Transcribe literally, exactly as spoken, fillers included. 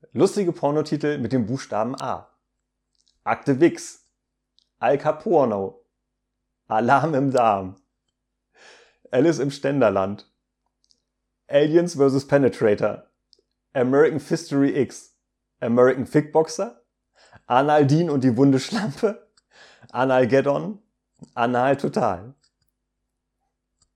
Lustige Pornotitel mit dem Buchstaben A. Akte Wix. Al Caporno. Alarm im Darm. Alice im Ständerland. Aliens versus. Penetrator. American Fistory X. American Fickboxer. Anal Dean und die wunde Schlampe. Anal Get On. Anal Total.